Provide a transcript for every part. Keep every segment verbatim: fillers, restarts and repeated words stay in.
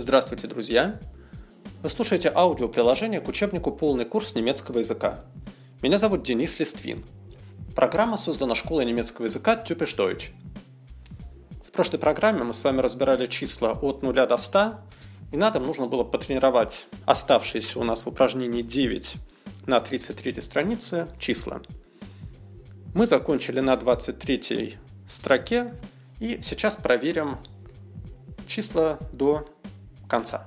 Здравствуйте, друзья! Вы слушаете аудиоприложение к учебнику «Полный курс немецкого языка». Меня зовут Денис Листвин. Программа создана школой немецкого языка Typisch Deutsch. В прошлой программе мы с вами разбирали числа от нуля до ста, и на этом нужно было потренировать оставшиеся у нас в упражнении девять на тридцать третьей странице числа. Мы закончили на двадцать третьей строке, и сейчас проверим числа до конца.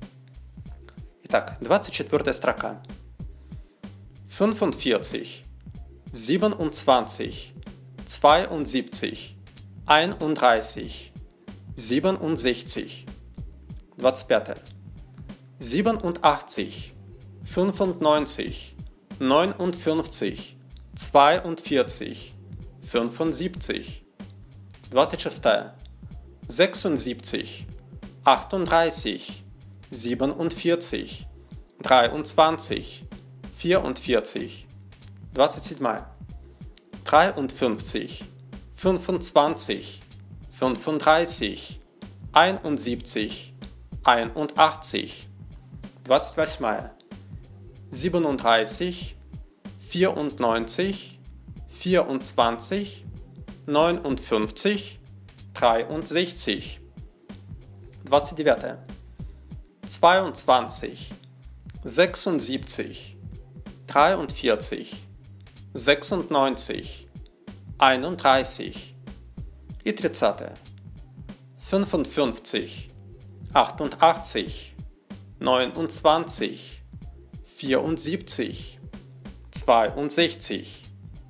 Итак, двадцать четвёртая строка. fünfundvierzig, siebenundzwanzig, zweiundsiebzig, einunddreißig, siebenundsechzig. двадцать пятая. siebenundachtzig, fünfundneunzig, neunundfünfzig, zweiundvierzig, fünfundsiebzig. двадцать шестая. sechsundsiebzig, achtunddreißig, siebenundvierzig, dreiundzwanzig, vierundvierzig. двадцать седьмая. dreiundfünfzig, fünfundzwanzig, fünfunddreißig, einundsiebzig, einundachtzig. двадцать восьмая. siebenunddreißig, vierundneunzig, vierundzwanzig, neunundfünfzig, dreiundsechzig. двадцать девятая. zweiundzwanzig, sechsundsiebzig, dreiundvierzig, sechsundneunzig, einunddreißig. И тридцатая. fünfundfünfzig, achtundachtzig, neunundzwanzig, vierundsiebzig, zweiundsechzig.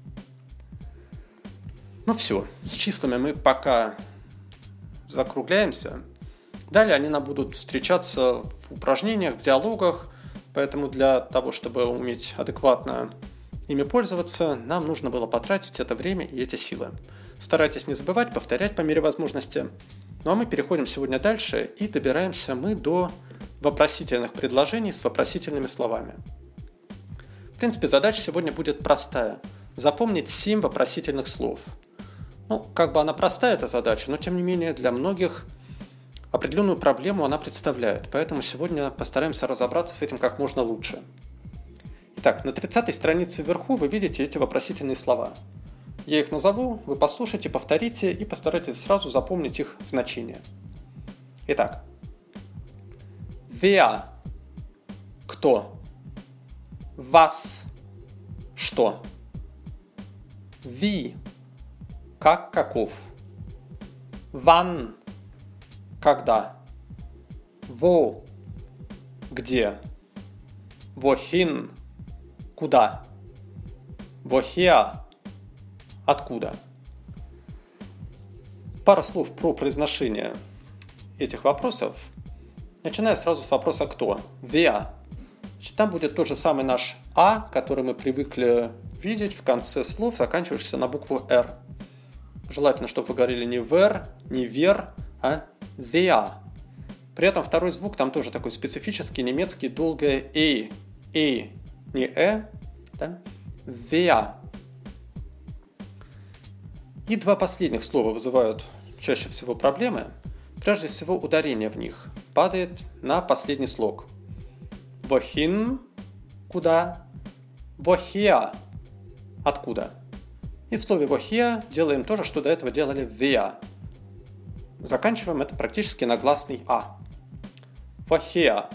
Ну все, с числами мы пока закругляемся. Далее они нам будут встречаться в упражнениях, в диалогах, поэтому для того, чтобы уметь адекватно ими пользоваться, нам нужно было потратить это время и эти силы. Старайтесь не забывать, повторять по мере возможности. Ну а мы переходим сегодня дальше и добираемся мы до вопросительных предложений с вопросительными словами. В принципе, задача сегодня будет простая. Запомнить семь вопросительных слов. Ну, как бы она простая, эта задача, но тем не менее для многих определенную проблему она представляет. Поэтому сегодня постараемся разобраться с этим как можно лучше. Итак, на тридцатой странице вверху вы видите эти вопросительные слова. Я их назову, вы послушайте, повторите и постарайтесь сразу запомнить их значение. Итак. Wer – кто? Was – что? Wie – как, каков? Wann – когда? Wo – где? Wohin – куда? Woher – откуда? Пара слов про произношение этих вопросов. Начиная сразу с вопроса «кто?». Wer. Значит, там будет тот же самый наш «а», который мы привыкли видеть в конце слов, заканчивающихся на букву «р». Желательно, чтобы вы говорили не «вер», не «вер», а «der». При этом второй звук там тоже такой специфический, немецкий, долгое «э». «э», не «э», да? «Wer». И два последних слова вызывают чаще всего проблемы. Прежде всего, ударение в них падает на последний слог. Wohin – куда? Woher – откуда? И в слове woher делаем то же, что до этого делали wer. Заканчиваем это практически на гласный а. Woher.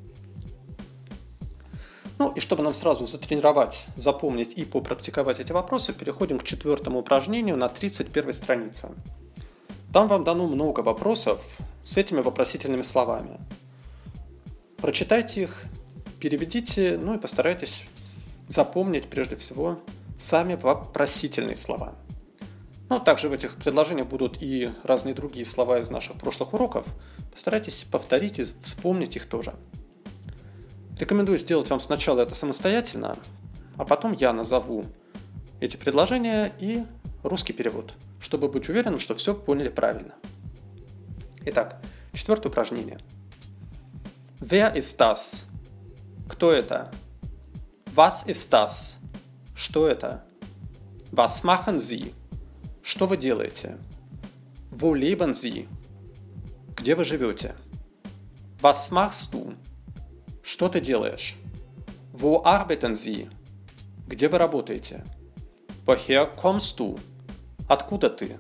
Ну и чтобы нам сразу затренировать, запомнить и попрактиковать эти вопросы, переходим к четвертому упражнению на тридцать первой странице. Там вам дано много вопросов с этими вопросительными словами. Прочитайте их, переведите, ну и постарайтесь запомнить прежде всего сами вопросительные слова. Ну, также в этих предложениях будут и разные другие слова из наших прошлых уроков. Постарайтесь повторить и вспомнить их тоже. Рекомендую сделать вам сначала это самостоятельно, а потом я назову эти предложения и русский перевод, чтобы быть уверенным, что все поняли правильно. Итак, четвертое упражнение. Wer ist das? Кто это? Was ist das? Что это? Was machen Sie? Что вы делаете? Wo leben Sie? Где вы живете? Was machst du? Что ты делаешь? Wo arbeiten Sie? Где вы работаете? Woher kommst du? Откуда ты?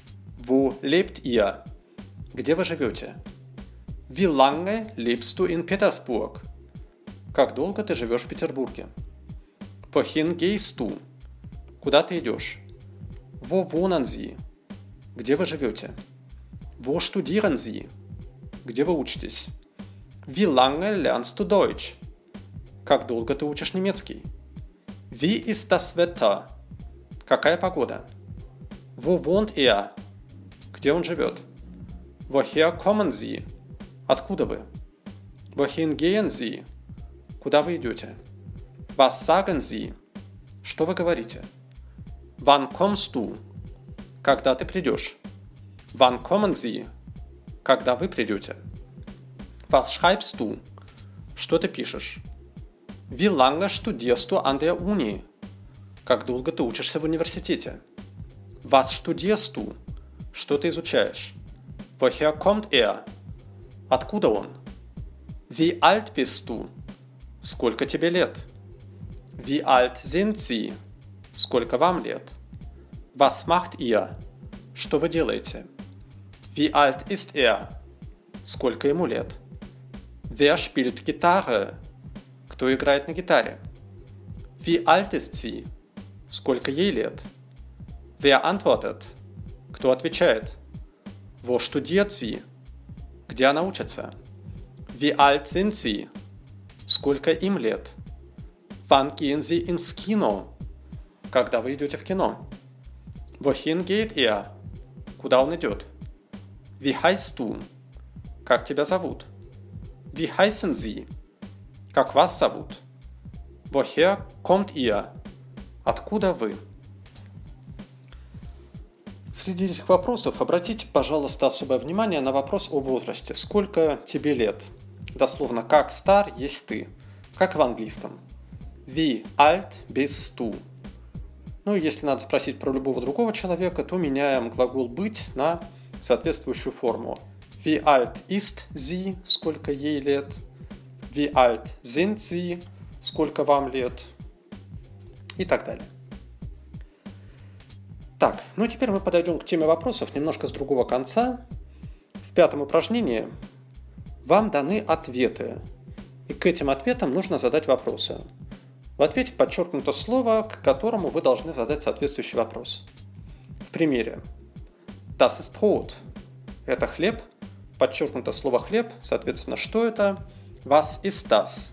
Wo lebt ihr? Где вы живете? Wie lange lebst du in Petersburg? Как долго ты живешь в Петербурге? Wohin gehst du? Куда ты идешь? Wo wohnen Sie? Где вы живете? Wo studieren Sie? Где вы учитесь? Wie lange lernst du Deutsch? Как долго ты учишь немецкий? Wie ist das Wetter? Какая погода? Wo wohnt er? Где он живет? Woher kommen Sie? Откуда вы? Wohin gehen Sie? Куда вы идете? Was sagen Sie? Что вы говорите? Wann kommst du? Когда ты придешь? Wann kommen Sie? Когда вы придете? Was schreibst du? Что ты пишешь? Wie lange studierst du an der Uni? Как долго ты учишься в университете? Was studierst du? Что ты изучаешь? Woher kommt er? Откуда он? Wie alt bist du? Сколько тебе лет? Wie alt sind Sie? Сколько вам лет? Was macht ihr? Что вы делаете? Wie alt ist er? Сколько ему лет? Wer spielt Gitarre? Кто играет на гитаре? Wie alt ist sie? Сколько ей лет? Wer antwortet? Кто отвечает? Wo studiert sie? Где она учится? Wie alt sind sie? Сколько им лет? Wann gehen Sie ins Kino? Когда вы идете в кино? Wohin geht er? Куда он идет? Wie heißt du? Как тебя зовут? Wie heißen Sie? Как вас зовут? Woher kommt ihr? Откуда вы? Среди этих вопросов обратите, пожалуйста, особое внимание на вопрос о возрасте. Сколько тебе лет? Дословно, как стар есть ты? Как в английском? Wie alt bist du? Ну и если надо спросить про любого другого человека, то меняем глагол быть на соответствующую форму. Wie alt ist sie? Сколько ей лет? Wie alt sind sie? Сколько вам лет? И так далее. Так, ну и теперь мы подойдем к теме вопросов немножко с другого конца. В пятом упражнении вам даны ответы, и к этим ответам нужно задать вопросы. В ответе подчеркнуто слово, к которому вы должны задать соответствующий вопрос. В примере Das ist Brot. Это хлеб. Подчеркнуто слово хлеб. Соответственно, что это? Was ist das?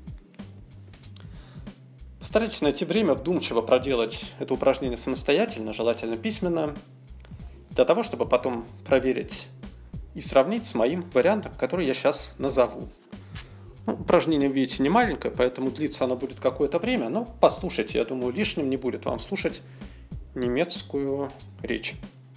Постарайтесь найти время вдумчиво проделать это упражнение самостоятельно, желательно письменно, для того, чтобы потом проверить и сравнить с моим вариантом, который я сейчас назову. Ну, упражнение, видите, не маленькое, поэтому длиться оно будет какое-то время, но послушайте, я думаю, лишним не будет вам слушать немецкую речь.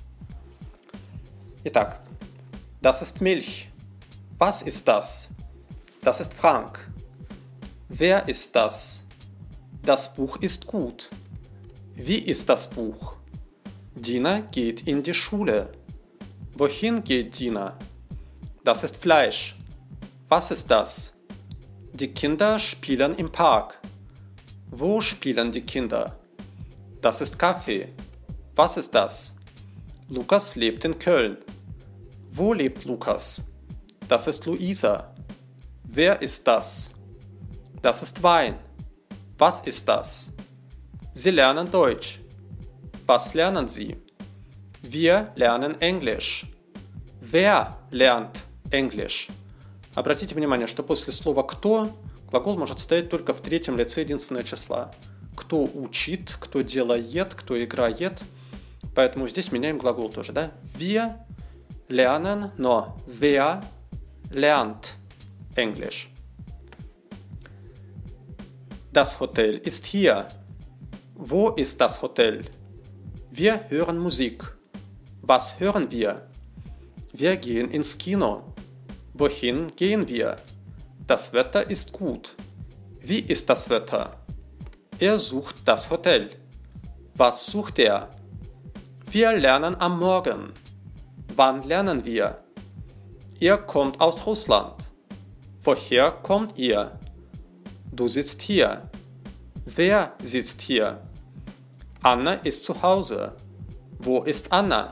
Итак, das ist Milch. Was ist das? Das ist Frank. Wer ist das? Das Buch ist gut. Wie ist das Buch? Dina geht in die Schule. Wohin geht Dina? Das ist Fleisch. Was ist das? Die Kinder spielen im Park. Wo spielen die Kinder? Das ist Kaffee. Was ist das? Lukas lebt in Köln. Wo lebt Lukas? Das ist Luisa. Wer ist das? Das ist Wein. Was ist das? Sie lernen Deutsch. Was lernen Sie? Wir lernen Englisch. Wer lernt Englisch? Обратите внимание, что после слова «кто» глагол может стоять только в третьем лице единственного числа. Кто учит, кто делает, кто играет. Поэтому здесь меняем глагол тоже, да? Wir lernen, но wer lernt Englisch? Das Hotel ist hier. Wo ist das Hotel? Wir hören Musik. Was hören wir? Wir gehen ins Kino. Wohin gehen wir? Das Wetter ist gut. Wie ist das Wetter? Er sucht das Hotel. Was sucht er? Wir lernen am Morgen. Wann lernen wir? Er kommt aus Russland. Woher kommt ihr? Du sitzt hier. Wer sitzt hier? Anna ist zu Hause. Wo ist Anna?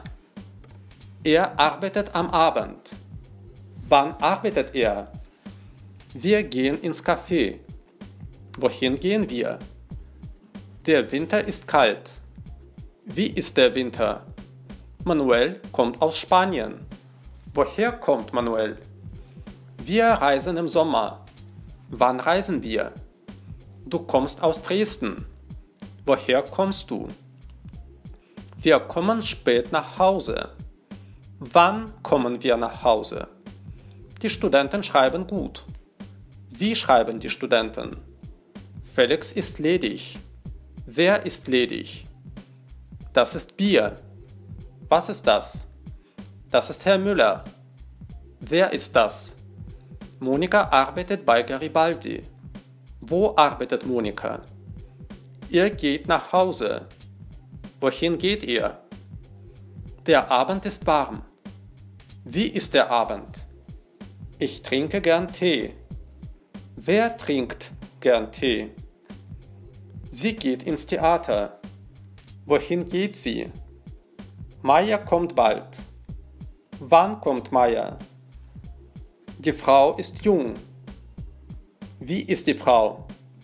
Er arbeitet am Abend. Wann arbeitet er? Wir gehen ins Café. Wohin gehen wir? Der Winter ist kalt. Wie ist der Winter? Manuel kommt aus Spanien. Woher kommt Manuel? Wir reisen im Sommer. Wann reisen wir? Du kommst aus Dresden. Woher kommst du? Wir kommen spät nach Hause. Wann kommen wir nach Hause? Die Studenten schreiben gut. Wie schreiben die Studenten? Felix ist ledig. Wer ist ledig? Das ist Bier. Was ist das? Das ist Herr Müller. Wer ist das? Monika arbeitet bei Garibaldi. Wo arbeitet Monika? Ihr geht nach Hause. Wohin geht ihr? Der Abend ist warm. Wie ist der Abend? Ich trinke gern Tee. Wer trinkt gern Tee? Sie geht ins Theater. Wohin geht sie? Maja kommt bald. Wann kommt Maja? Die Frau ist jung. Wie ist die Frau?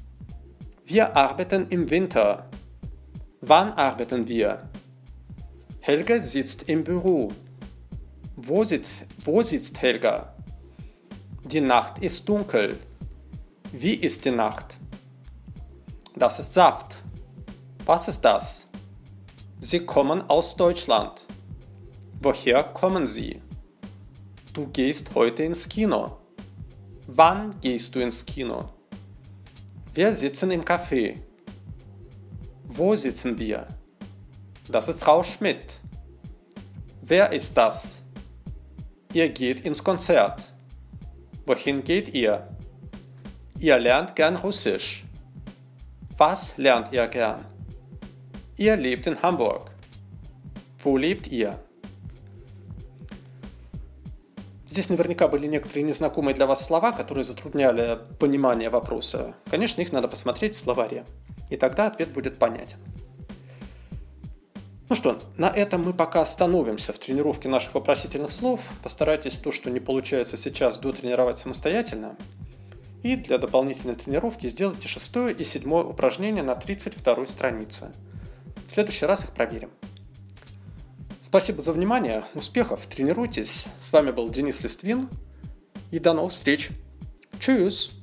Wir arbeiten im Winter. Wann arbeiten wir? Helga sitzt im Büro. Wo sitzt, wo sitzt Helga? Die Nacht ist dunkel. Wie ist die Nacht? Das ist Saft. Was ist das? Sie kommen aus Deutschland. Woher kommen Sie? Du gehst heute ins Kino. Wann gehst du ins Kino? Wir sitzen im Café. Wo sitzen wir? Das ist Frau Schmidt. Wer ist das? Ihr geht ins Konzert. Wohin geht ihr? Ihr lernt gern Russisch. Was lernt ihr gern? Ihr lebt in Hamburg. Wo lebt ihr? Здесь наверняка были некоторые незнакомые для вас слова, которые затрудняли понимание вопроса. Конечно, их надо посмотреть в словаре, и тогда ответ будет понятен. Ну что, на этом мы пока остановимся в тренировке наших вопросительных слов. Постарайтесь то, что не получается сейчас, дотренировать самостоятельно. И для дополнительной тренировки сделайте шестое и седьмое упражнение на тридцать второй странице. В следующий раз их проверим. Спасибо за внимание, успехов, тренируйтесь. С вами был Денис Листвин и до новых встреч. Tschüss!